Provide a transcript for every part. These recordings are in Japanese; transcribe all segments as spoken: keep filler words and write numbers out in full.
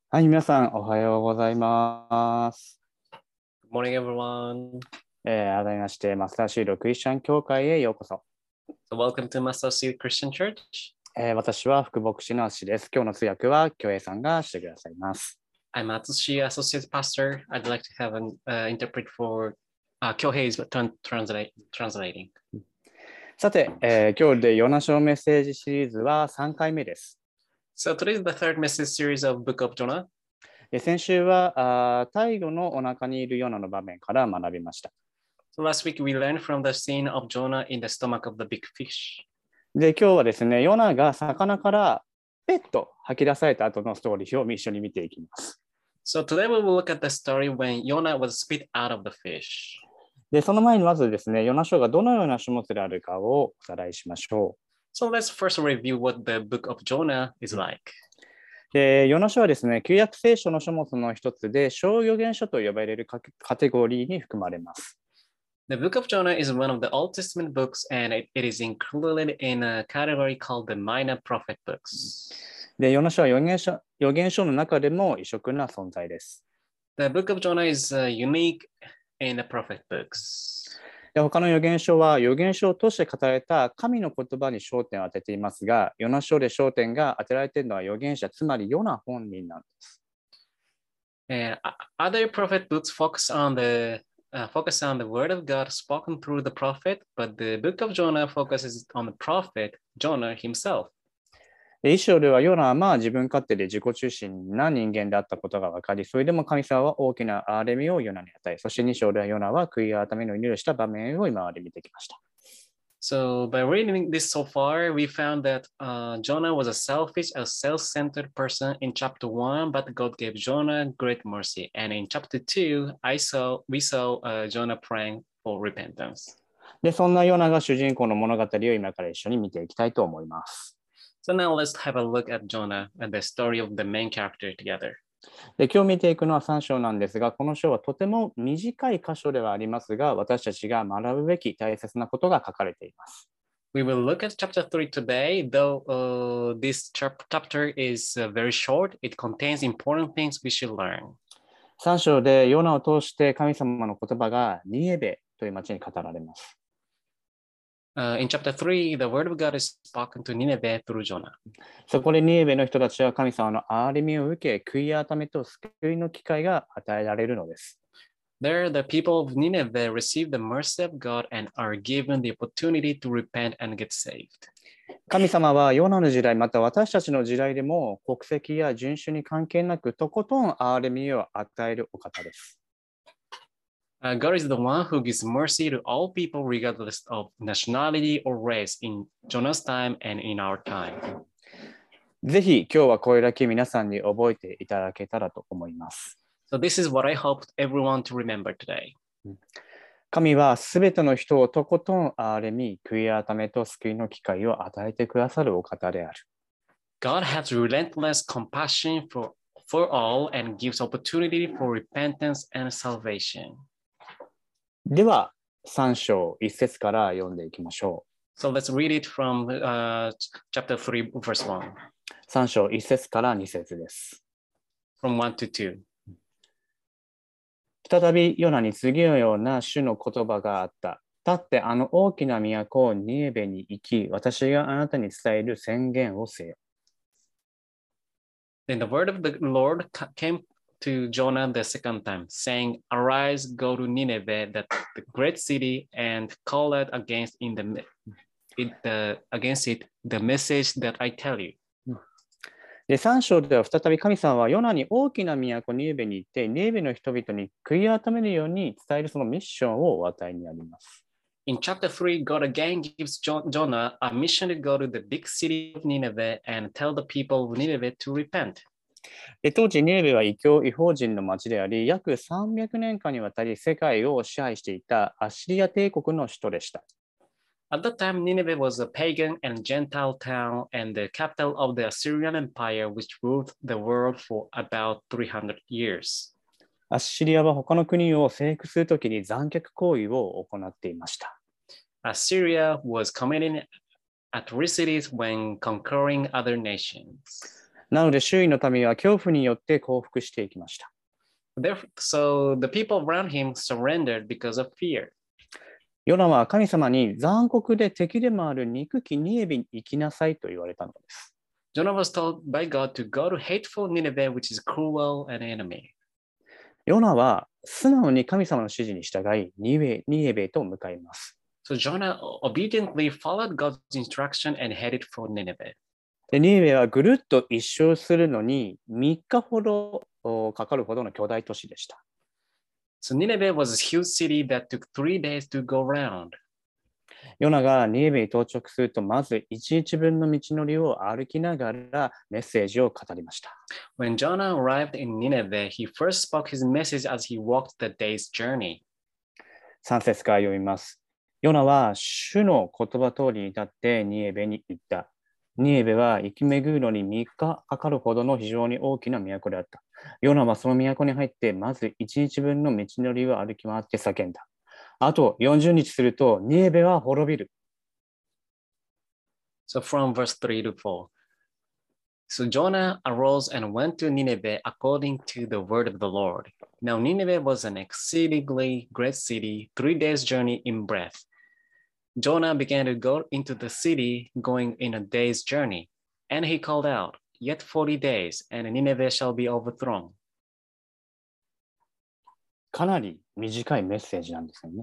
はい、皆さん、おはようございます。 Good morning, everyone. えー改めまして、マスターシードクリスチャン教会へようこそ。 So, welcome to Master Seed Christian Church. えー私は副牧師のアッシュです。今日の通訳は、京平さんがしてくださいます。 I'm Atsushi, Associate Pastor. I'd like to have an uh, interpret for uh, Kyohei is tran- translate, translating. さて、えー今日でヨナ書メッセージシリーズはさんかいめです。 So, today is the third message series of Book of Jonah. で先週はあー、太陽のお腹にいるヨナの場面から学びました。 So, last week we learned from the scene of Jonah in the stomach of the big fish. で、今日はですね、ヨナが魚からペッと吐き出された後のストーリーを一緒に見ていきます。 So, today we will look at the story when Jonah was spit out of the fish. で、その前にまずですね、ヨナ書がどのような書物であるかをおさらいしましょう。 So, let's first review what the Book of Jonah is like. で、ヨナ書はですね、旧約聖書の書物の一つで、小預言書と呼ばれるカテゴリーに含まれます。 The Book of Jonah is one of the Old Testament books, and it, it is included in a category called the Minor Prophet books. で、ヨナ書は預言書預言書の中でも異色な存在です。 The Book of Jonah is uh, unique in the prophet books. で、他の預言書は預言書を通して語られた神の言葉に焦点を当てていますが、ヨナ書で焦点が当てられているのは預言者、つまりヨナ本人なんです。 And other prophet books focus on the uh, focus on the word of God spoken through the prophet, but the Book of Jonah focuses on the prophet Jonah himself. で一章ではヨナはまあ自分勝手で自己中心な人間であったことが分かり、それでも神様は大きな憐れみをヨナに与え、そしてに章ではヨナは悔い改めの祈りをした場面を今まで見てきました。 So by reading this so far, we found that uh, Jonah was a selfish, a self-centered person in chapter one, but God gave Jonah great mercy. And in chapter two, I saw we saw uh, Jonah praying for repentance. で、そんなヨナが主人公の物語を今から一緒に見ていきたいと思います。 So now let's have a look at Jonah and the story of the main character together. で、今日見ていくのはさん章なんですが、この章はとても短い箇所ではありますが、私たちが学ぶべき大切なことが書かれています。 We will look at chapter three today, though uh, this chapter is uh, very short. It contains important things we should learn. さん章でヨナを通して神様の言葉がニエベという町に語られます。 Uh, in chapter three, the word of God is spoken to Nineveh through Jonah. そこでニエベの人たちは神様の憐れみを受け、悔い改めと救いの機会が与えられるのです。 There, the people of Nineveh receive the mercy of God and are given the opportunity to repent and get saved. 神様はヨナの時代、また私たちの時代でも国籍や人種に関係なくとことん憐れみを与えるお方です。 Uh, God is the one who gives mercy to all people regardless of nationality or race in Jonah's time and in our time. ぜひ今日はこれだけ皆さんに覚えていただけたらと思います。 So this is what I hope everyone to remember today. 神はすべての人をとことん憐れみ、悔い改めと救いの機会を与えてくださるお方である。 God has relentless compassion for, for all and gives opportunity for repentance and salvation. では、さん章いち節から読んでいきましょう。 So let's read it from uh, chapter three, verse one. さん章いち節からに節です。 From one to two. 再びヨナに次のような主の言葉があった。立ってあの大きな都ニエベに行き、私があなたに伝える宣言をせよ。 Then the word of the Lord came to Jonah the second time, saying, Arise, go to Nineveh, that the great city, and call out against in the it, the against it the message that I tell you. で、さん章では再び神様はヨナに大きな都ニエベに行って、ニエベの人々に悔い改めるように伝えるそのミッションをお与えになります。 In chapter three, God again gives Jonah a mission to go to the big city of Nineveh and tell the people of Nineveh to repent. で当時、ニエベは異教異邦人の町であり、約さんびゃくねんかんにわたり世界を支配していたアッシリア帝国の首都でした。 At that time, Nineveh was a pagan and Gentile town and the capital of the Assyrian Empire, which ruled the world for about three hundred years. アッシリアは他の国を征服するときに残虐行為を行っていました。 Assyria was committing atrocities when conquering other nations. なので周囲の民は恐怖によって降伏していきました。 Therefore, so the people around him surrendered because of fear. ヨナは神様に残酷で敵でもある憎きニエベに行きなさいと言われたのです。 Jonah was told by God to go to hateful Nineveh, which is cruel and enemy. ヨナは素直に神様の指示に従い、ニエベ、ニエベと向かいます。 So Jonah obediently followed God's instruction and headed for Nineveh. でニエベはぐるっと一周するのにみっかほどかかるほどの巨大都市でした。 So Nineveh was a huge city that took three days to go round. ヨナがニエベに到着すると、まず一日分の道のりを歩きながらメッセージを語りました。 When Jonah arrived in Nineveh, he first spoke his message as he walked the day's journey. さん節から読みます。ヨナは主の言葉通りに立ってニエベに行った。ニエベは生き巡るのにみっかかかるほどの非常に大きな都であった。ヨナはその都に入って、まず一日分の道のりを歩き回って叫んだ。あとよんじゅうにちすると、ニエベは滅びる。 So from verse three to four. So Jonah arose and went to Nineveh according to the word of the Lord. Now Nineveh was an exceedingly great city, three days' journey in breadth. Jonah began to go into the city, going in a day's journey. And he called out, Yet forty days, and Nineveh shall be overthrown. かなり短いメッセージなんですよね。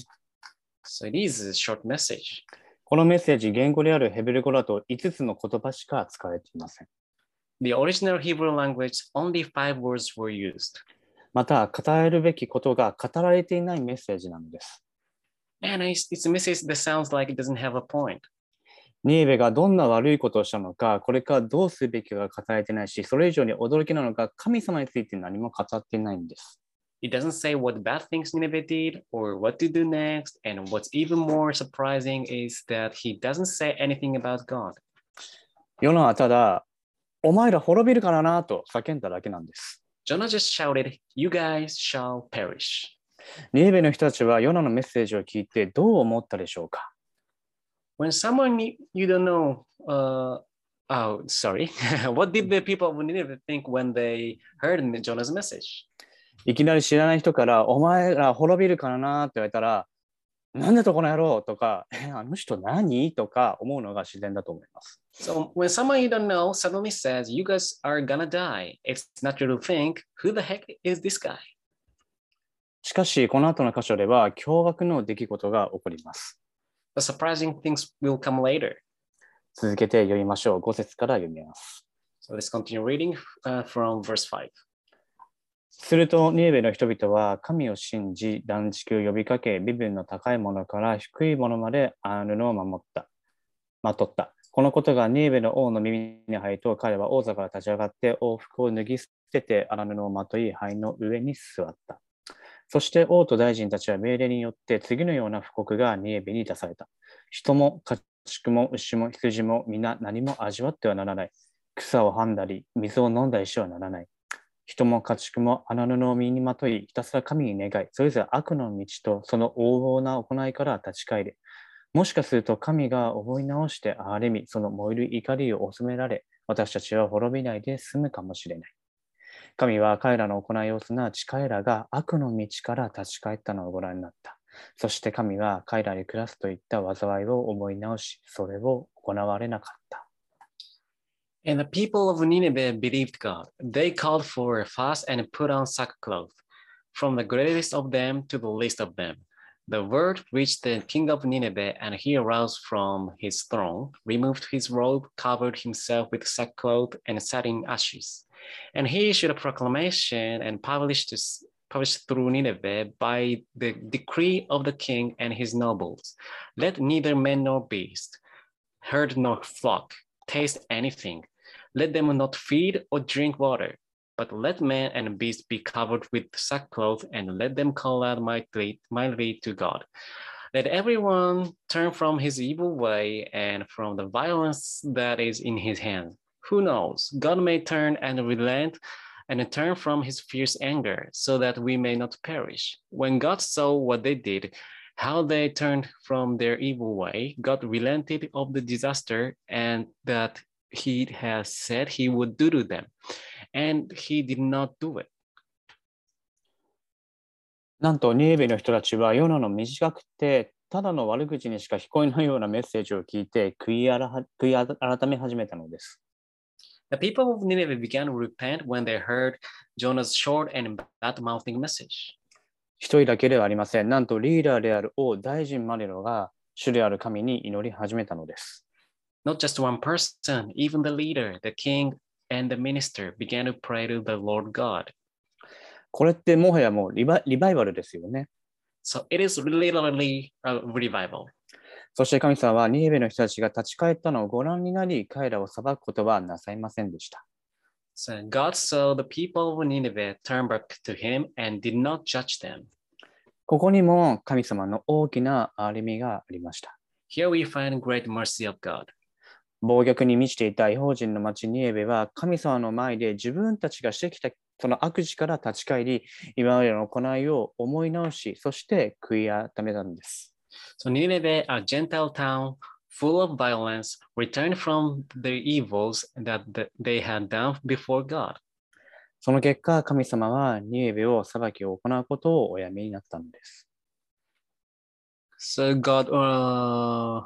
So it is a short message. このメッセージ、言語であるヘブル語だといつつの言葉しか使われていません。 The original Hebrew language, only five words were used. また、語られるべきことが語られていないメッセージなのです。 And it's, it's a message that sounds like it doesn't have a point. ニエベがどんな悪いことをしたのか、これからどうするべきかが語られていないし、それ以上に驚きなのが神様について何も語っていないんです。 It doesn't say what bad things Nineveh did or what to do next. And what's even more surprising is that he doesn't say anything about God. ヨナはただ、お前ら滅びるからなと叫んだだけなんです。 Jonah just shouted, You guys shall perish. ニエベの人たちはヨナのメッセージを聞いてどう思ったでしょうか。 When someone you don't know, uh, oh, sorry. What did the people of Nineveh think when they heard Jonah's message? いきなり知らない人から、お前ら滅びるからなって言われたら、なんだとこの野郎とか、え、あの人何とか思うのが自然だと思います。 So when someone you don't know suddenly says, You guys are gonna die, it's natural to think, Who the heck is this guy? しかし、この後の箇所では驚愕の出来事が起こります。 The surprising things will come later. 続けて読みましょう。ご節から読みます。 So let's continue reading、uh, from verse five. すると、ニエベの人々は神を信じ、断食を呼びかけ、身分の高いものから低いものまであるのを守った。まとった。このことがニエベの王の耳に入ると、彼は王座から立ち上がって王服を脱ぎ捨てて荒布をまとい、灰の上に座った。そして王と大臣たちは命令によって次のような布告がニエベに出された。人も家畜も牛も羊も皆何も味わってはならない。草をはんだり、水を飲んだりしてはならない。人も家畜も荒布を身にまとい、ひたすら神に願い、それぞれ悪の道とその横暴な行いから立ち返れ。もしかすると神が思い直して憐れみ、その燃える怒りを収められ、私たちは滅びないで済むかもしれない。神は彼らの行いをすなわち彼らが悪の道から立ち返ったのをご覧になった。そして神は彼らに下すといった災いを思い直し、それを行われなかった。 And the people of Nineveh believed God. They called for a fast and put on sackcloth, from the greatest of them to the least of them. The word reached the king of Nineveh, and he arose from his throne, removed his robe, covered himself with sackcloth, and sat in ashes. And he issued a proclamation and published, published through Nineveh by the decree of the king and his nobles. Let neither man nor beast, herd nor flock, taste anything. Let them not feed or drink water, but let man and beast be covered with sackcloth, and let them call out mightily, mightily to God. Let everyone turn from his evil way and from the violence that is in his hand. Who knows? God may turn and relent and turn from his fierce anger, so that we may not perish. When God saw what they did, how they turned from their evil way, God relented of the disaster, and that he has said he would do to them, and he did not do it. なんとニネベの人たちはヨナの短くてただの悪口にしか聞こえないようなメッセージを聞いて悔いあら悔い改め始めたのです。 The people of Nineveh began to repent when they heard Jonah's short and bad-mouthing message. 一人だけではありません。なんとリーダーである王大臣マネロが主である神に祈り始めたのです。 Not just one person, even the leader, the king, and the minister began to pray to the Lord God. これってもはやもうリバ、リバイバルですよね。 So it is literally a revival. そして神様はニネベの人たちが立ち返ったのをご覧になり、彼らを裁くことはなさいませんでした。 So God saw the people of Nineveh turn back to him and did not judge them. ここにも神様の大きな憐れみがありました。 Here we find great mercy of God. 暴虐に満ちていた異邦人の町ニネベは神様の前で自分たちがしてきたその悪事から立ち返り、今までの行いを思い直し、そして悔い改めたんです。 So Nineveh, a Gentile town full of violence, returned from the evils that they had done before God. その結果、神様はニネベを裁きを行うことをおやめになったのです。 So God, uh,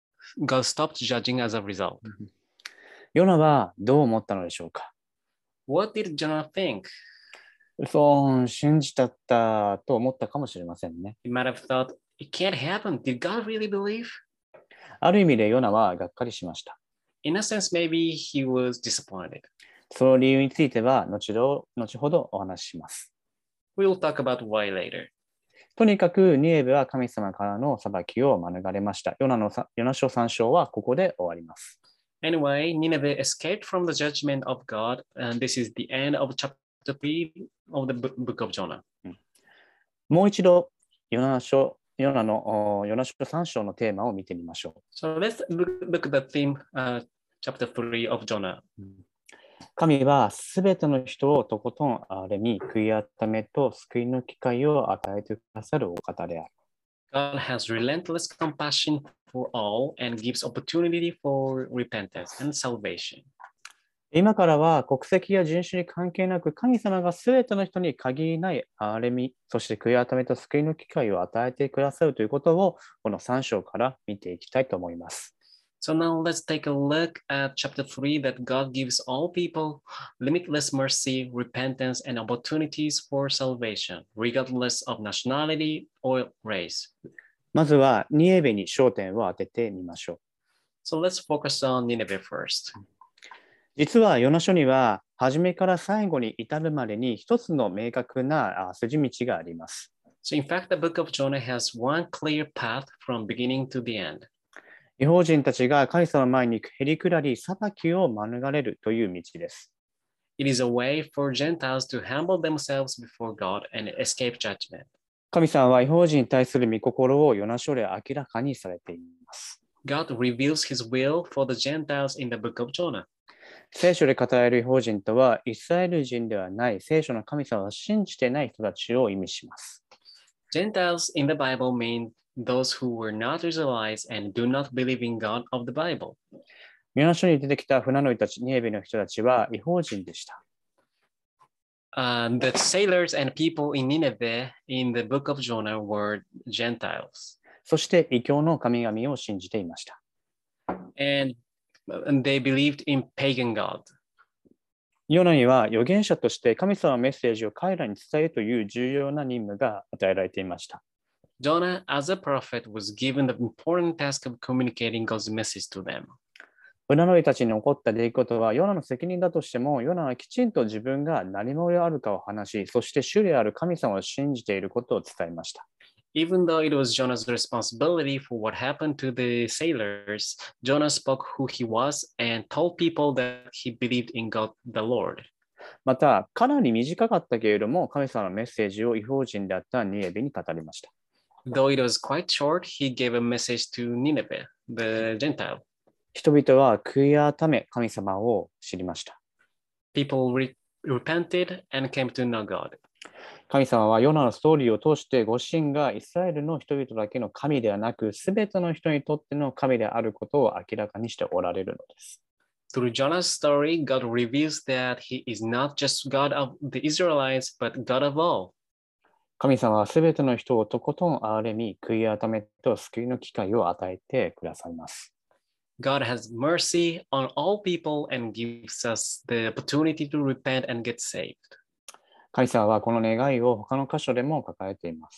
God stopped judging as a result. ヨナはどう思ったのでしょうか？ What did Jonah think? そう信じたったと思ったかもしれませんね。 He might have thought, it can't happen. Did God really believe? ある意味でヨナはがっかりしました。 In a sense, maybe he was disappointed. その理由については後ど後ほどお話しします。 We will talk about why later. とにかくニネベは神様からの裁きを免れました。ヨナのヨナ書さん章はここで終わります。 Anyway, Nineveh escaped from the judgment of God, and this is the end of chapter three of the book of Jonah. もう一度ヨナ書ヨナのヨナ書さん章のテーマを見てみましょう。 So let's look, look at the theme, uh, chapter three of Jonah. 神はすべての人をとことん憐れみ、悔い改めと救いの機会を与えてくださるお方である。 God has relentless compassion for all and gives opportunity for repentance and salvation. 今からは国籍や人種に関係なく神様がすべての人に限りない憐れみ、そして悔い改めと救いの機会を与えてくださるということをこのさん章から見ていきたいと思います。 So now let's take a look at chapter three that God gives all people limitless mercy, repentance, and opportunities for salvation, regardless of nationality or race. まずはニネベに焦点を当ててみましょう。 So let's focus on Nineveh first. 実はヨナ書には初めから最後に至るまでに一つの明確な筋道があります。 So in fact, the book of Jonah has one clear path from beginning to the end. 異邦人たちが神様の前にへりくらり裁きを免れるという道です。 It is a way for Gentiles to humble themselves before God and escape judgment. 神様は異邦人に対する御心をヨナ書で明らかにされています。 God reveals his will for the Gentiles in the book of Jonah. 聖書で語られる異邦人とはイスラエル人ではない聖書の神様を信じていない人たちを意味します。 Gentiles in the Bible mean those who were not Israelites and do not believe in God of the Bible. ヨナ書に出てきた船乗りたち、ニネベの人たちは異邦人でした。 Uh, the sailors and people in Nineveh in the book of Jonah were Gentiles. そして異教の神々を信じていました。 And, and they believed in pagan God. ヨナには預言者として神様のメッセージを彼らに伝えるという重要な任務が与えられていました。 Jonah, as a prophet, was given the important task of communicating God's message to them. 船乗りたちに起こった出来事はヨナの責任だとしても、ヨナはきちんと自分が何者であるかを話し、そして主である神様を信じていることを伝えました。 Even though it was Jonah's responsibility for what happened to the sailors, Jonah spoke who he was and told people that he believed in God the Lord. また、かなり短かったけれども、神様のメッセージを異邦人であったニネベに語りました。 Though it was quite short, he gave a message to Nineveh, the Gentile. 人々は悔い改め神様を知りました。 People re- repented and came to know God. 神様はヨナのストーリーを通してご自身がイスラエルの人々だけの神ではなく、すべての人にとっての神であることを明らかにしておられるのです。 Through Jonah's story, God reveals that he is not just God of the Israelites, but God of all. 神様はすべての人をとことん憐れみ、悔い改めと救いの機会を与えてくださいます。 God has mercy on all people and gives us the opportunity to repent and get saved. 神様はこの願いを他の箇所でも抱えています。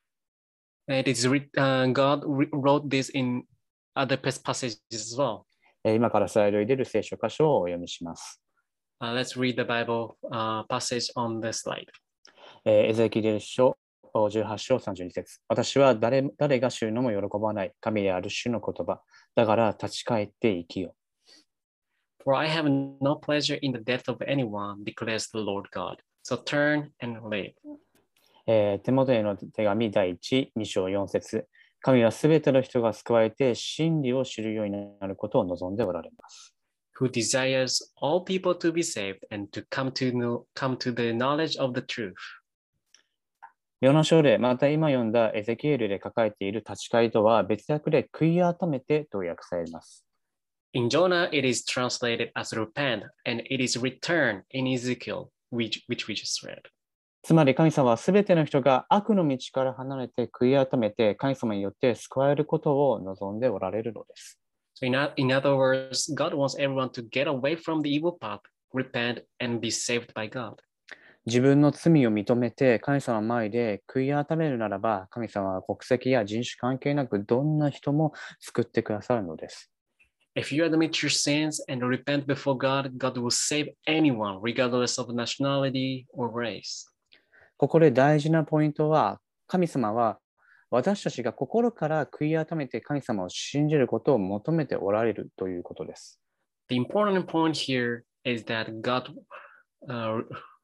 It is, uh, God wrote this in other passages as well. 今からスライドに出る聖書箇所をお読みします。 Uh, let's read the Bible uh, passage on the slide. エゼキエル書じゅうはち章さんじゅうに節。私は 誰, 誰が主のも喜ばない神である主の言葉。だから立ち返って生きよ。 For I have no pleasure in the death of anyone, declares the Lord God. So turn and live. えー、テモテへの手紙第一、に章よん節。神はすべての人が救われて真理を知るようになることを望んでおられます。 Who desires all people to be saved and to come to know, come to the knowledge of the truth. ヨナ書でまた今読んだエゼキエルで書かれている立ち返りとは別訳で悔い改めてと訳されます。 In Jonah, it is translated as repent, and it is return in Ezekiel, which, which we just read. つまり神様はすべての人が悪の道から離れて悔い改めて神様によって救われることを望んでおられるのです。 So in, in other words, God wants everyone to get away from the evil path, repent, and be saved by God. 自分の罪を認めて神様の前で悔い改めるならば、神様は国籍や人種関係なくどんな人も救ってくださるのです。 If you admit your sins and repent before God, God will save anyone, regardless of nationality or race. ここで大事なポイントは、神様は私たちが心から悔い改めて神様を信じることを求めておられるということです。 The important point here is that God, uh,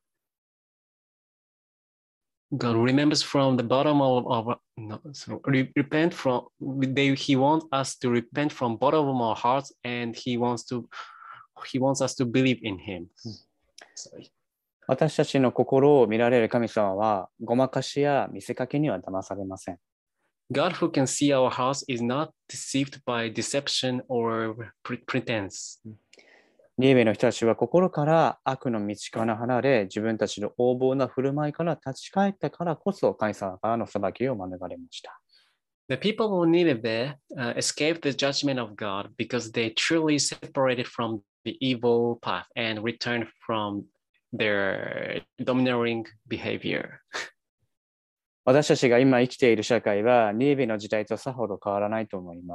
God remembers from the bottom of, of no, so repent from. They, he wants us to repent from bottom of our hearts, and he wants to, he wants us to believe in Him. Sorry. 私たちの心を見られる神様は、ごまかしや見せかけには騙されません。 God who can see our hearts is not deceived by deception or pretense. ニネベの人たちは心から悪の道から離れ、自分たちの横暴な振る舞いから立ち返ったからこそ、神様からの裁きを免れました。 The people of Nineveh uh, escaped the judgment of God because they truly separated from the evil path and returned from their domineering behavior. 私たちが今生きている社会は、ニネベの時代とさほど変わらないと思います。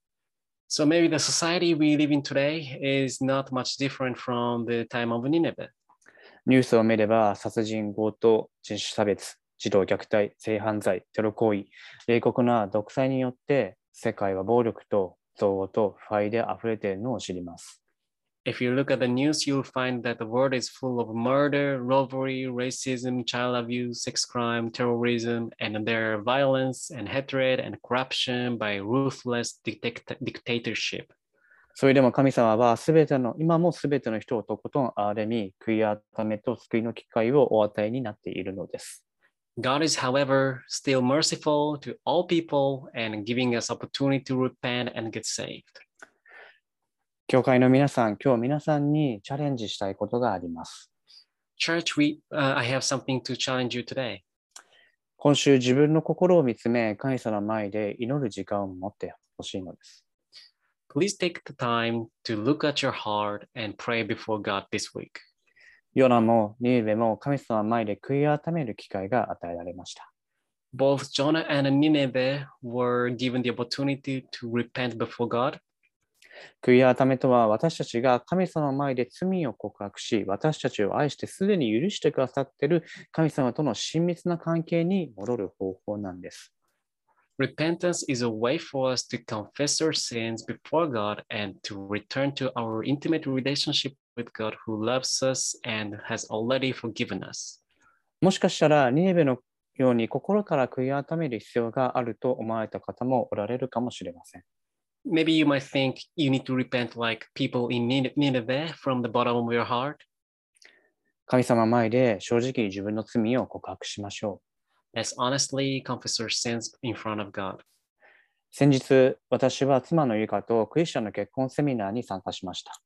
So maybe the society we live in today is not much different from the time of Nineveh. ニュースを見れば、殺人、強盗、人種差別、児童虐待、性犯罪、テロ行為、冷酷な独裁によって、世界は暴力と憎悪と腐敗で溢れているのを知ります。 If you look at the news, you'll find that the world is full of murder, robbery, racism, child abuse, sex crime, terrorism, and there are violence and hatred and corruption by ruthless dictat- dictatorship. それでも神様はすべての、今もすべての人をとことん憐れみ、悔い改めと救いの機会をお与えになっているのです。 God is, however, still merciful to all people and giving us opportunity to repent and get saved. 教会の皆さん、今日皆さんにチャレンジしたいことがあります。 Church, we, uh, I have something to challenge you today. 今週自分の心を見つめ、神様の前で祈る時間を持ってほしいのです。 Please take the time to look at your heart and pray before God this week. ヨナもニネベも神様の前で悔い改める機会が与えられました。 Both Jonah and Nineveh were given the opportunity to repent before God. 悔い改めとは私たちが神様の前で罪を告白し、私たちを愛してすでに許してくださっている神様との親密な関係に戻る方法なんです。 Repentance is a way for us to confess our sins before God and to return to our intimate relationship with God who loves us and has already forgiven us. もしかしたらニネベのように心から悔い改める必要があると思われた方もおられるかもしれません。 Maybe you might think you need to repent like people in Nineveh from the bottom of your heart. 神様の前で正直に自分の罪を告白しましょう。Let's honestly confess our sins in front of God. 先日、私は妻のゆかとクリスチャンの結婚セミナーに参加しました。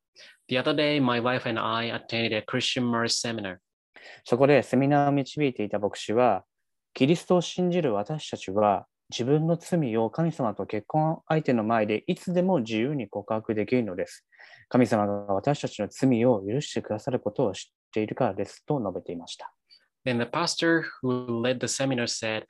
The other day, my wife and I attended a Christian marriage seminar. そこでセミナーを導いていた牧師は、キリストを信じる私たちは自分の罪を神様と結婚相手の前でいつでも自由に告白できるのです。神様が私たちの罪を許してくださることを知っているからですと述べていました。 Then the pastor who led the seminar said,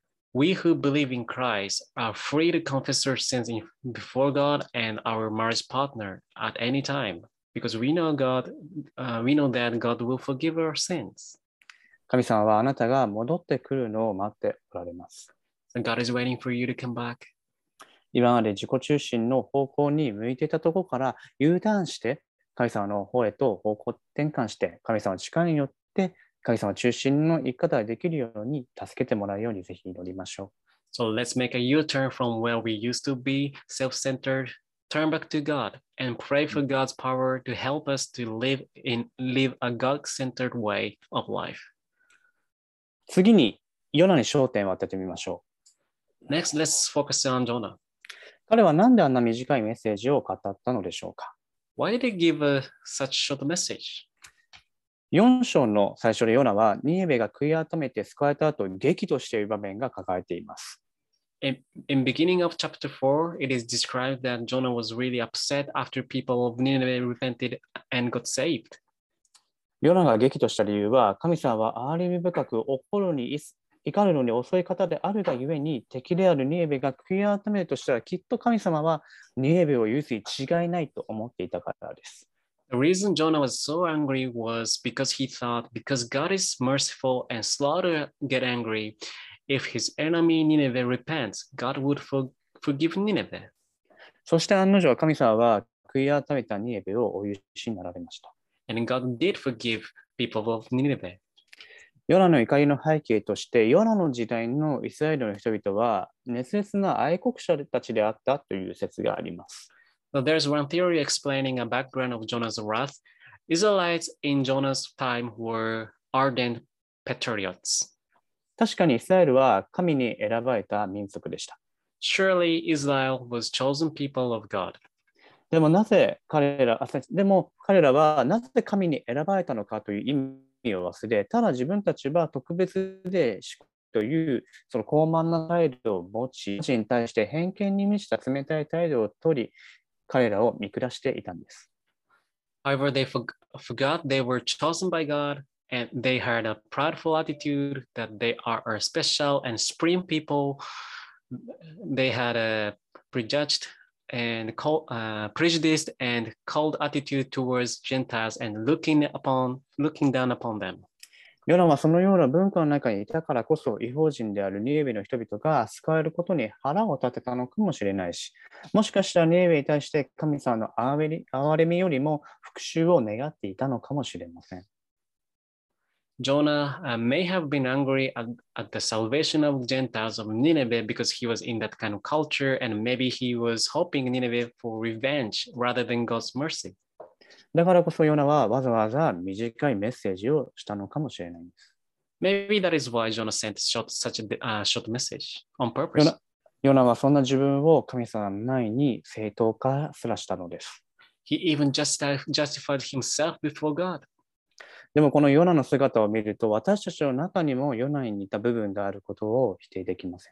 We who believe in Christ are free to confess our sins before God and our marriage partner at any time, because we know God, uh, we know that God will forgive our sins. 神様はあなたが戻ってくるのを待っておられます。 And God is waiting for you to come back. 今まで自己中心の方向に向いていたところから U ターンして神様の方へと方向転換して神様の力によって神様中心の生き方ができるように助けてもらうようにぜひ祈りましょう。So let's make a U-turn from where we used to be self-centered, turn back to God, and pray for God's power to help us to live in live a God-centered way of life. 次にヨナに焦点を当ててみましょう。Next, let's focus on Jonah. 彼は何であんな短いメッセージを語ったのでしょうか Why did he give a, such short message? よん章の最初でヨナはニネベが悔い改めて救われた後激怒している場面が書かれています。 In, in beginning of chapter four, it is described that Jonah was really upset after people of Nineveh repented and got saved. ヨナが激怒した理由は神様は憐れみ深く怒るに怒るのに遅い方であるがゆえに敵であるニネベが悔い改めるとしたらきっと神様はニネベを許すに違いないと思っていたからです。 The reason Jonah was so angry was because he thought, because God is merciful and slow to get angry, if his enemy Nineveh repents, God would for, forgive Nineveh. そして案の定神様は悔い改めたニネベをお許しになられました。 And God did forgive people of Nineveh. ヨナの怒りの背景として、ヨナの時代のイスラエルの人々は熱烈な愛国者たちであったという説があります。 So there's one theory explaining a background of Jonah's wrath. Israelites in Jonah's time were ardent patriots. 確かにイスラエルは神に選ばれた民族でした。 Surely Israel was chosen people of God. でもなぜ彼ら、でも彼らはなぜ神に選ばれたのかという意味を忘れ、ただ自分たちは特別でというその高慢な態度を持ち、に対して偏見に満ちた冷たい態度を取り、彼らを見下していたんです。 However, they forgot they were chosen by God and they had a prideful attitude that they are a special and supreme people. They had a prejudged and cold, uh, prejudiced and cold attitude towards Gentiles and looking upon, looking down upon them. ヨナはそのような文化の中にいたからこそ、異邦人であるニネベの人々が救われることに腹を立てたのかもしれないし、もしかしたらニネベに対して神様の憐れみよりも復讐を願っていたのかもしれません。 Jonah uh, may have been angry at, at the salvation of Gentiles of Nineveh because he was in that kind of culture, and maybe he was hoping Nineveh for revenge rather than God's mercy. だからこそヨナはわざわざ短いメッセージをしたのかもしれないんです。 Maybe that is why Jonah sent short, such a uh, short message on purpose. ヨナ、 ヨナはそんな自分を神様の前に正当化すらしたのです。 He even justified himself before God. でもこのヨナの姿を見ると、私たちの中にもヨナに似た部分があることを否定できません。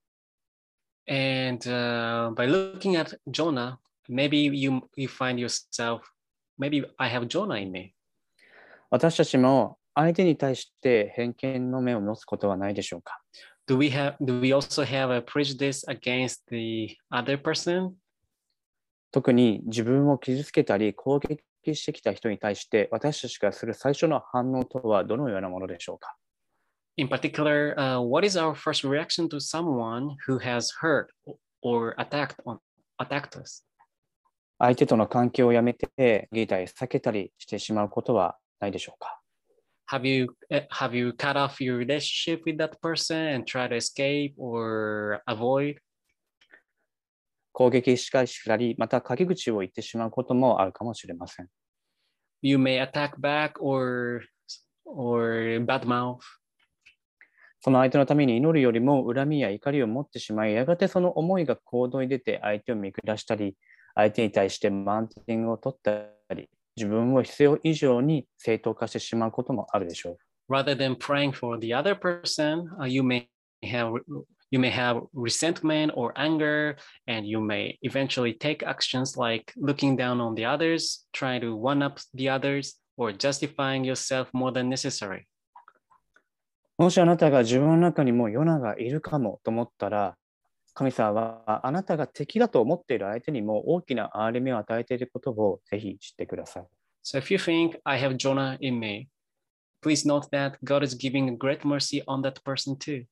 And uh, by looking at Jonah, maybe you, you find yourself, maybe I have Jonah in me. 私たちも相手に対して偏見の目を持つことはないでしょうか Do we have, do we also have a prejudice against the other person? 特に自分を傷つけたり攻撃してきた人に対して私たちがする最初の反応とはどのようなものでしょうか In particular, uh, what is our first reaction to someone who has hurt or attacked, on, attacked us? 相手との関係をやめて逃げたり避けたりしてしまうことはないでしょうか Have you, uh, have you cut off your relationship with that person and try to escape or avoid? 攻撃し返したり、また陰口を言ってしまうこともあるかもしれません。 You may attack back or, or badmouth. その相手のために祈るよりも恨みや怒りを持ってしまい、やがてその思いが行動に出て相手を見下したり、相手に対してマウンティングを取ったり、自分を必要以上に正当化してしまうこともあるでしょう。 Rather than praying for the other person, uh, you may have you may have resentment or anger, and you may eventually take actions like looking down on the others, trying to one up the others, or justifying yourself more than necessary. もしあなたが自分の中にもヨナがいるかもと思ったら、神様はあなたが敵だと思っている相手にも大きな憐れみを与えていることをぜひ知ってください。 So if you think I have Jonah in me, please note that God is giving a great mercy on that person too.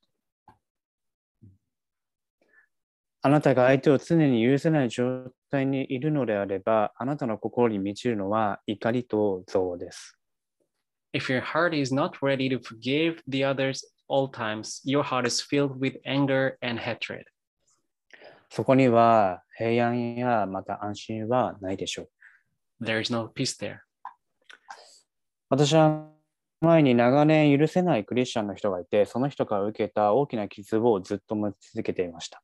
あなたが相手を常に許せない状態にいるのであれば、あなたの心に満ちるのは怒りと憎悪です。 If your heart is not ready to forgive the others all times, your heart is filled with anger and hatred. そこには平安やまた安心はないでしょう。 There is no peace there. 私は前に長年許せないクリスチャンの人がいて、その人から受けた大きな傷をずっと持ち続けていました。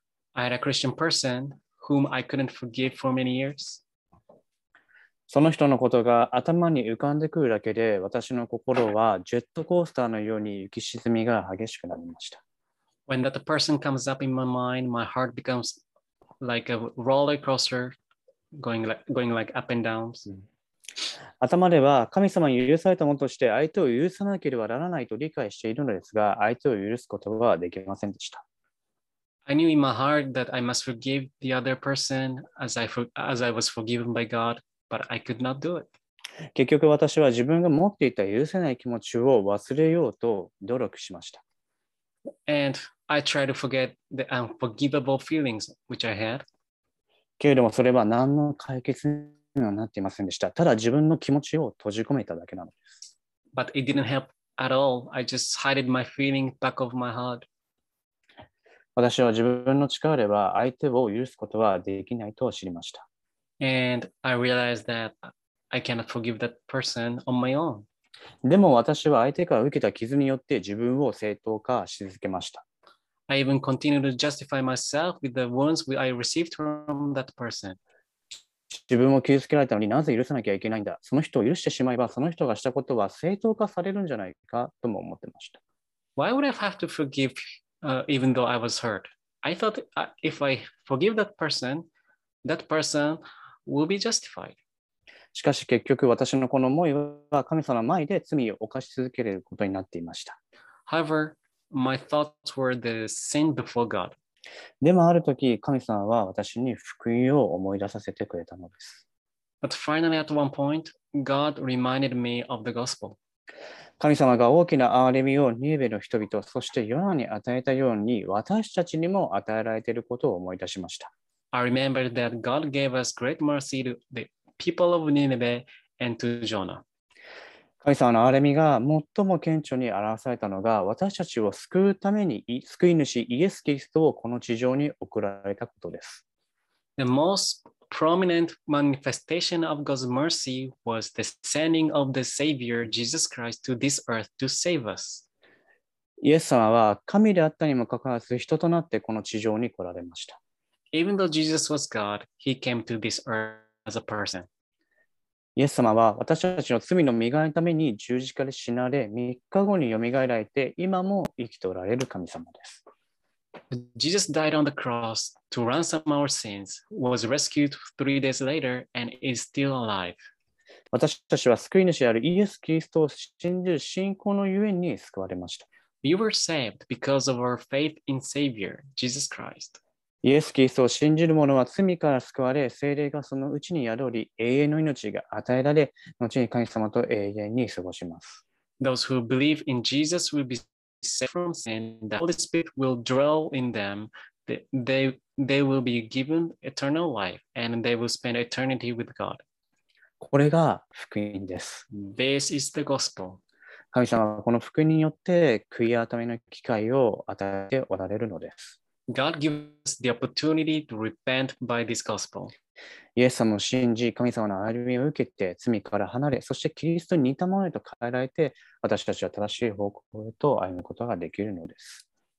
I had a Christian person whom I couldn't forgive for many years. その人のことが頭に浮かんでくるだけで、私の心はジェットコースターのように浮き沈みが激しくなりました。 When that person comes up in my mind, my heart becomes like a roller coaster going like, going like up and down. 頭では神様に許されたものとして相手を許さなければならないと理解しているのですが、相手を許すことはできませんでした。 I knew in my heart that I must forgive the other person as I, for, as I was forgiven by God, but I could not do it. 結局私は自分が持っていた許せない気持ちを忘れようと努力しました。 And I tried to forget the unforgivable feelings which I had. けれどもそれは何の解決にはなっていませんでした。ただ自分の気持ちを閉じ込めただけなのです。 But it didn't help at all. I just hid my feeling back of my heart. 私は自分の力では相手を許すことはできないと知りました。 And I realized that I cannot forgive that person on my own. でも私は相手から受けた傷によって自分を正当化し続けました。 I even continued to justify myself with the wounds I received from that person. 自分を傷つけられたのになぜ許さなきゃいけないんだ。その人を許してしまえばその人がしたことは正当化されるんじゃないかとも思ってました。 Why would I have to forgive uh, even though I was hurt? I thought uh, if I forgive that person, that person will be justified. しかし結局私のこの思いは神様の前で罪を犯し続けることになっていました。 However, my thoughts were the sin before God. でもある時神様は私に福音を思い出させてくれたのです。 But finally at one point, God reminded me of the gospel. 神様が大きな憐れみをニネベの人々、そしてヨナに与えたように私たちにも与えられていることを思い出しました。 I remembered that God gave us great mercy to the people of Nineveh and to Jonah. 神様の憐れみが最も顕著に表されたのが私たちを救うために救い主イエス・キリストをこの地上に送られたことです。 The most prominent manifestation of God's mercy was the sending of the Savior Jesus Christ to this earth to save us. イエス様は神であったにもかかわらず人となってこの地上に来られました。 Even though Jesus was God, he came to this earth as a person. イエス様は私たちの罪の身代わりのために十字架で死なれ、みっかごによみがえられて、今も生きておられる神様です。 Jesus died on the cross to ransom our sins, was rescued three days later, and is still alive. 私たちは救い主であるイエス・キリストを信じる信仰のゆえに救われました。 We were saved because of our faith in Savior, Jesus Christ. イエス・キリストを信じる者は罪から救われ、聖霊がそのうちに宿り、永遠の命が与えられ、後に神様と永遠に過ごします。 Those who believe in Jesus will be saved from sin. The Holy Spirit will dwell in them. They, they, they will be given eternal life, and they will spend eternity with God. これが福音です。 This is the gospel. 神様はこの福音によって悔い改めの機会を与えておられるのです。 God gives us the opportunity to repent by this gospel. イエス様を信じ、神様の憐れみを受けて、罪から離れ、そしてキリストに似たものへと変えられて、私たちは正しい方向へと歩むことができるのです。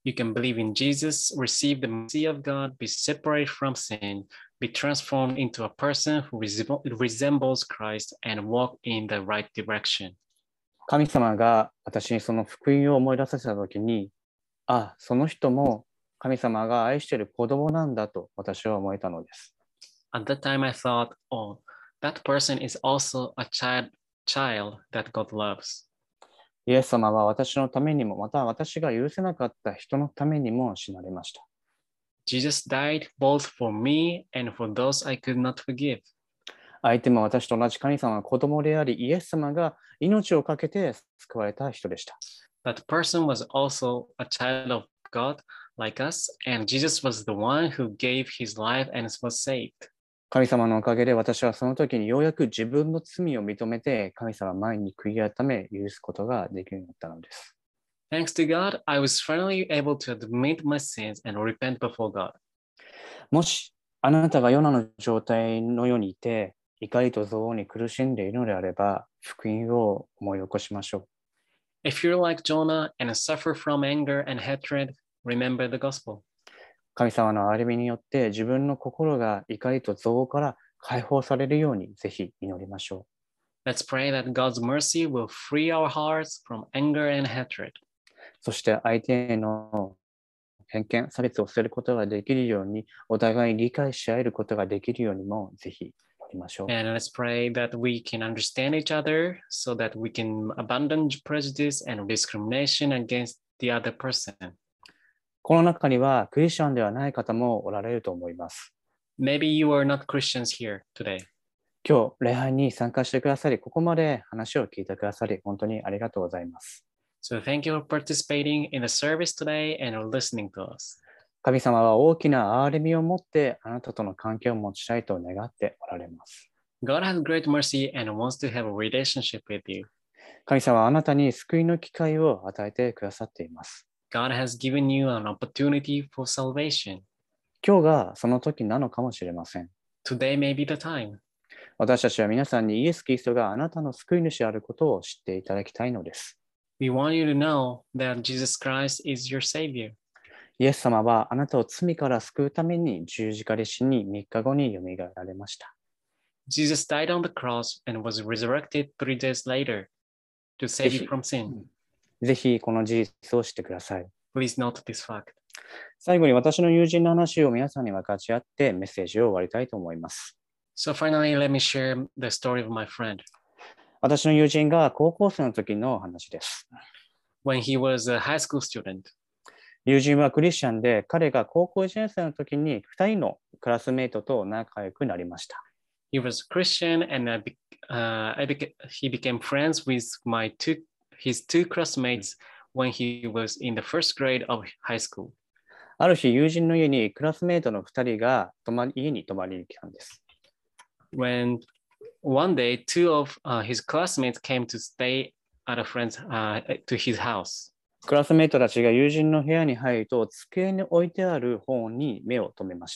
You can believe in Jesus, receive the mercy of God, be separated from sin, be transformed into a person who resembles Christ, and walk in the right direction. 神様が私にその福音を思い出させたときに、あ、その人も神様が愛している子供なんだと私は思えたのです。 At that time I thought, oh, that person is also a child, child that God loves. イエス様は私のためにも、また私が許せなかった人のためにも死なれました。 Jesus died both for me and for those I could not forgive. 相手も私と同じ神様の子供であり、イエス様が命を懸けて救われた人でした。 That person was also a child of God like us, and Jesus was the one who gave his life and was saved. 神様のおかげで私はその時にようやく自分の罪を認めて神様前に悔い改め許すことができるようになったのです。 Thanks to God, I was finally able to admit my sins and repent before God. もしあなたがヨナの状態のようにいて、怒りと憎悪に苦しんでいるのであれば、福音を思い起こしましょう。 If you're like Jonah and suffer from anger and hatred, remember the gospel. 神様の憐れみによって自分の心が怒りと憎悪から解放されるようにぜひ祈りましょう。Let's pray that God's mercy will free our hearts from anger and hatred. そして相手への偏見、差別を捨てることができるように、お互い理解し合えることができるようにもぜひ祈りましょう。 And let's pray that we can understand each other so that we can abandon prejudice and discrimination against the other person. この中にはクリスチャンではない方もおられると思います。 Maybe you are not Christians here today. 今日、礼拝に参加してくださり、ここまで話を聞いてくださり、本当にありがとうございます。 So thank you for participating in the service today and listening to us. 神様は大きな憐れみを持ってあなたとの関係を持ちたいと願っておられます。 God has great mercy and wants to have a relationship with you. 神様はあなたに救いの機会を与えてくださっています。 God has given you an opportunity for salvation. 今日がその時なのかもしれません。 Today may be the time. 私たちは皆さんにイエス・キリストがあなたの救い主であることを知っていただきたいのです。 We want you to know that Jesus Christ is your Savior. イエス様はあなたを罪から救うために十字架で死にみっかごによみがえられました。 Jesus died on the cross and was resurrected three days later to save you from sin. ぜひこの事実を知ってください。 Please note this fact. 最後に私の友人の話を皆さんに分かち合ってメッセージを終わりたいと思います。 So finally, let me share the story of my friend. 私の友人が高校生の時の話です。 When he was a high school student. 友人はクリスチャンで、彼が高校いちねん生の時にふたりのクラスメイトと仲良くなりました。 He was Christian and I be, uh, I beca- he became friends with my two, his two classmates when he was in the first grade of high school. ある日、友人の家にクラスメイトのふたりが泊まり家に泊まりに来たんです。 When one day, two of uh, his classmates came to stay at a friend's uh, to his house. クラスメイトたちが友人の部屋に入ると、机に置いてある本に目を留めました。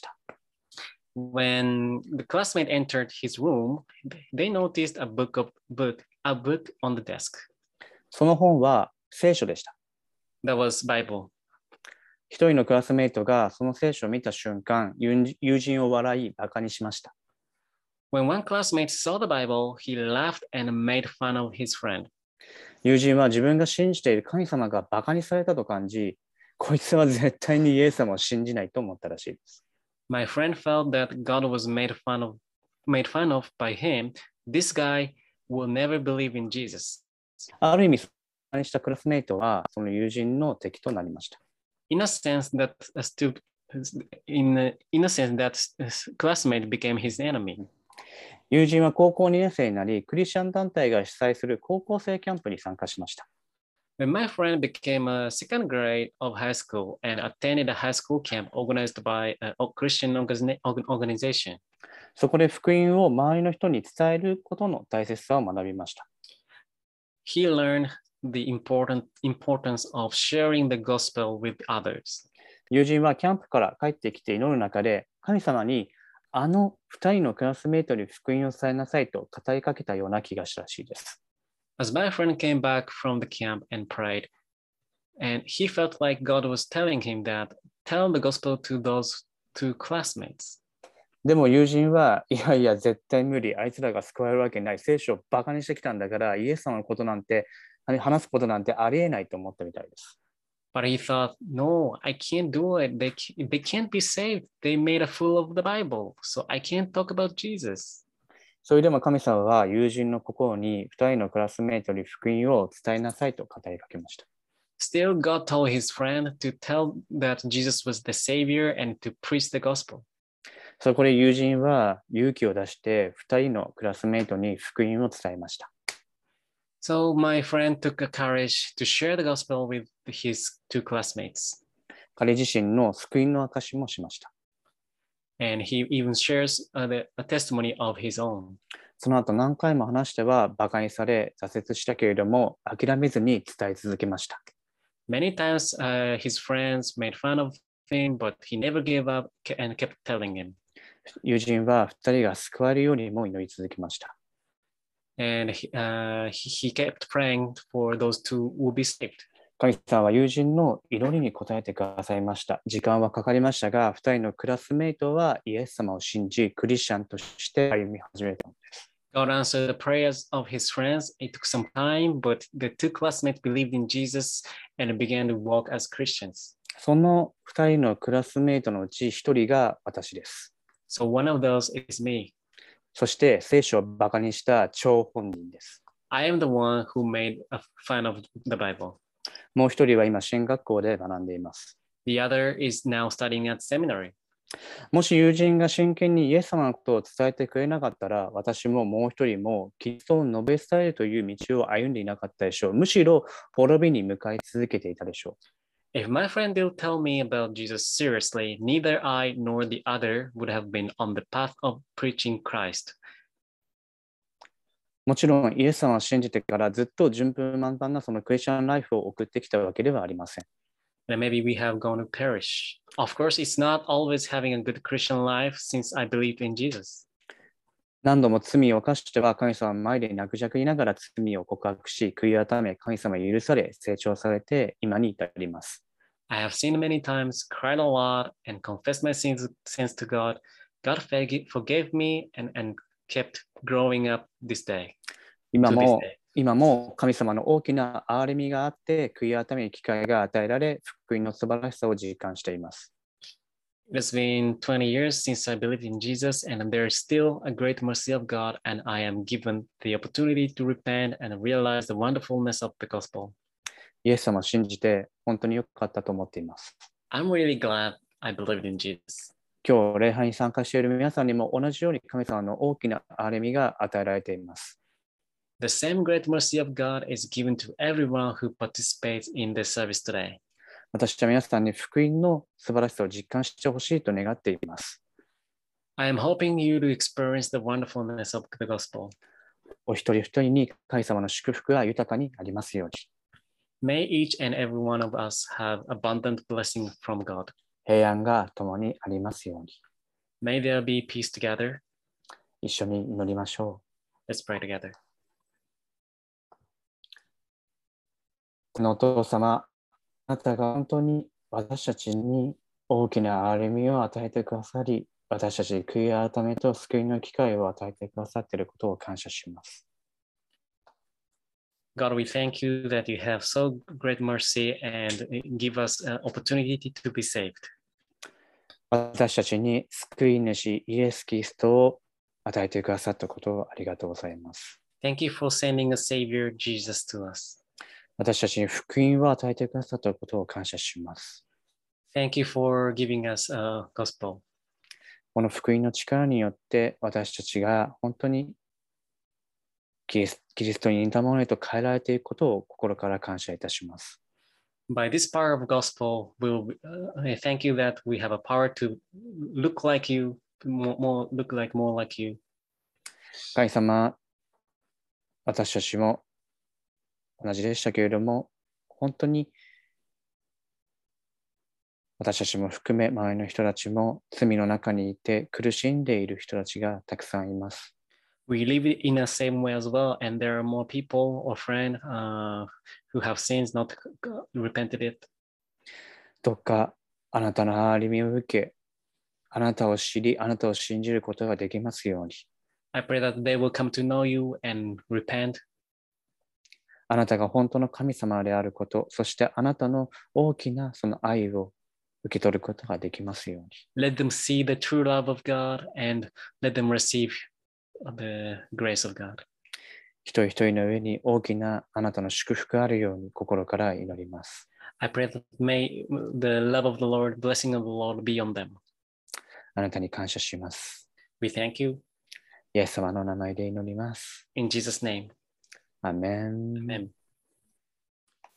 When the classmate entered his room, they noticed a book of book, a book on the desk. その本は聖書でした。 That was Bible. 一人のクラスメイトがその聖書を見た瞬間、友人を笑い、バカにしました。 When one classmate saw the Bible, he laughed and made fun of his friend. 友人は自分が信じている神様がバカにされたと感じ、こいつは絶対にイエス様を信じないと思ったらしいです。 My friend felt that God was made fun of, made fun of by him. This guy will never believe in Jesus. ある意味、バカにしたクラスメイトはその友人の敵となりました。 In a sense that a stu- in, a, in a sense that classmate became his enemy. 友人は高校にねん生になり、クリスチャン団体が主催する高校生キャンプに参加しました。 When my friend became a second grade of high school and attended a high school camp organized by a Christian organization. そこで福音を周りの人に伝えることの大切さを学びました。 He learned the important importance of sharing the gospel with others. 友人はキャンプから帰ってきて祈る中で、神様にあの二人のクラスメイトに福音を伝えなさいと語りかけたような気がしたらしいです。 As my friend came back from the camp and prayed, And he felt like God was telling him that, tell the gospel to those two classmates. でも友人はいやいや絶対無理、あいつらが救われるわけない、聖書をバカにしてきたんだからイエス様のことなんて話すことなんてありえないと思ったみたいです。 But he thought, no, I can't do it. They, they can't be saved. They made a fool of the Bible. So I can't talk about Jesus. それでも神様は友人の心にふたりのクラスメートに福音を伝えなさいと語りかけました。 Still, God told his friend to tell that Jesus was the Savior and to preach the gospel. そこで友人は勇気を出してふたりのクラスメートに福音を伝えました。 So my friend took a courage to share the gospel with his two classmates. 彼自身の救いの証しもしました。 And he even shares a, a testimony of his own. その後何回も話してはバカにされ挫折したけれども諦めずに伝え続けました。 Many times uh, his friends made fun of him, but he never gave up and kept telling him. 友人はふたりが救われるようにも祈り続けました。 And he, uh, he kept praying for those two who will be saved. 神様は友人の祈りに応えてくださいました。時間はかかりましたが、ふたりのクラスメイトはイエス様を信じ、クリスチャンとして歩み始めたのです。 God answered the prayers of his friends. It took some time, but the two classmates believed in Jesus and began to walk as Christians. そのふたりのクラスメイトのうちひとりが私です。 So one of those is me. そして聖書をバカにした張本人です。 I am the one who made a fun of the Bible. もう一人は今、進学校で学んでいます。 The other is now studying at seminary. もし友人が真剣にイエス様のことを伝えてくれなかったら、私ももう一人もキリストを述べ伝えるという道を歩んでいなかったでしょう。むしろ滅びに向かい続けていたでしょう。 If my friend didn't tell me about Jesus seriously, neither I nor the other would have been on the path of preaching Christ. もちろん、イエス様を信じてからずっと順風満帆なそのクリスチャンライフを送ってきたわけではありません。 And maybe we have gone to perish. Of course, it's not always having a good Christian life since I believe in Jesus. 何度も罪を犯しては神様の前で泣くじゃくりながら罪を告白し、悔い改め、神様に許され、成長されて、今に至ります。 I have sinned many times, cried a lot, and confessed my sins, sins to God. God forgave me and, and kept growing up this day. 今も、今も神様の大きな憐れみがあって、悔い改める機会が与えられ、福音の素晴らしさを実感しています。 It has been twenty years since I believed in Jesus, and there is still a great mercy of God, and I am given the opportunity to repent and realize the wonderfulness of the gospel. イエス様を信じて本当に良かったと思っています。 I'm really glad I believed in Jesus. 今日礼拝に参加している皆さんにも同じように神様の大きな憐れみが与えられています。 The same great mercy of God is given to everyone who participates in the service today. 私は皆さんに福音の素晴らしさを実感してほしいと願っています。 I am hoping you to experience the wonderfulness of the gospel. お一人一人に神様の祝福が豊かになりますように。 May each and every one of us have abundant blessing from God. 平安が共にありますように。 May there be peace together. 一緒に祈りましょう。Let's pray together. このお父様、あなたが本当に私たちに大きな憐れみを与えてくださり、私たちに悔い改めと救いの機会を与えてくださっていることを感謝します。 God, we thank you that you have so great mercy and give us an opportunity to be saved. 私たちに救い主イエス・キリストを与えてくださったことをありがとうございます。 Thank you for sending a Savior, Jesus, to us. 私たちに福音を与えてくださったことを感謝します。 Thank you for giving us a gospel. この福音の力によって私たちが本当にキリス、キリストに似たものへと変えられていくことを心から感謝いたします。 By this power of gospel, we'll, uh, I thank you that we have a power to look like you, more, more look like more like you. 神様、私たちも同じでしたけれども、本当に私たちも含め周りの人たちも罪の中にいて苦しんでいる人たちがたくさんいます。 We live in the same way as well, and there are more people or friends uh, who have sins, not repented it. どうかあなたの憐れみを受け、あなたを知り、あなたを信じることができますように。 I pray that they will come to know you and repent. あなたが本当の神様であること、そしてあなたの大きなその愛を受け取ることができますように。 Let them see the true love of God and let them receive the grace of God. 一人一人の上に大きなあなたの祝福があるように心から祈ります。 I pray that may the love of the Lord, blessing of the Lord be on them. あなたに感謝します。 We thank you. イエス様の名前で祈ります。 In Jesus' name. アーメン。 Amen.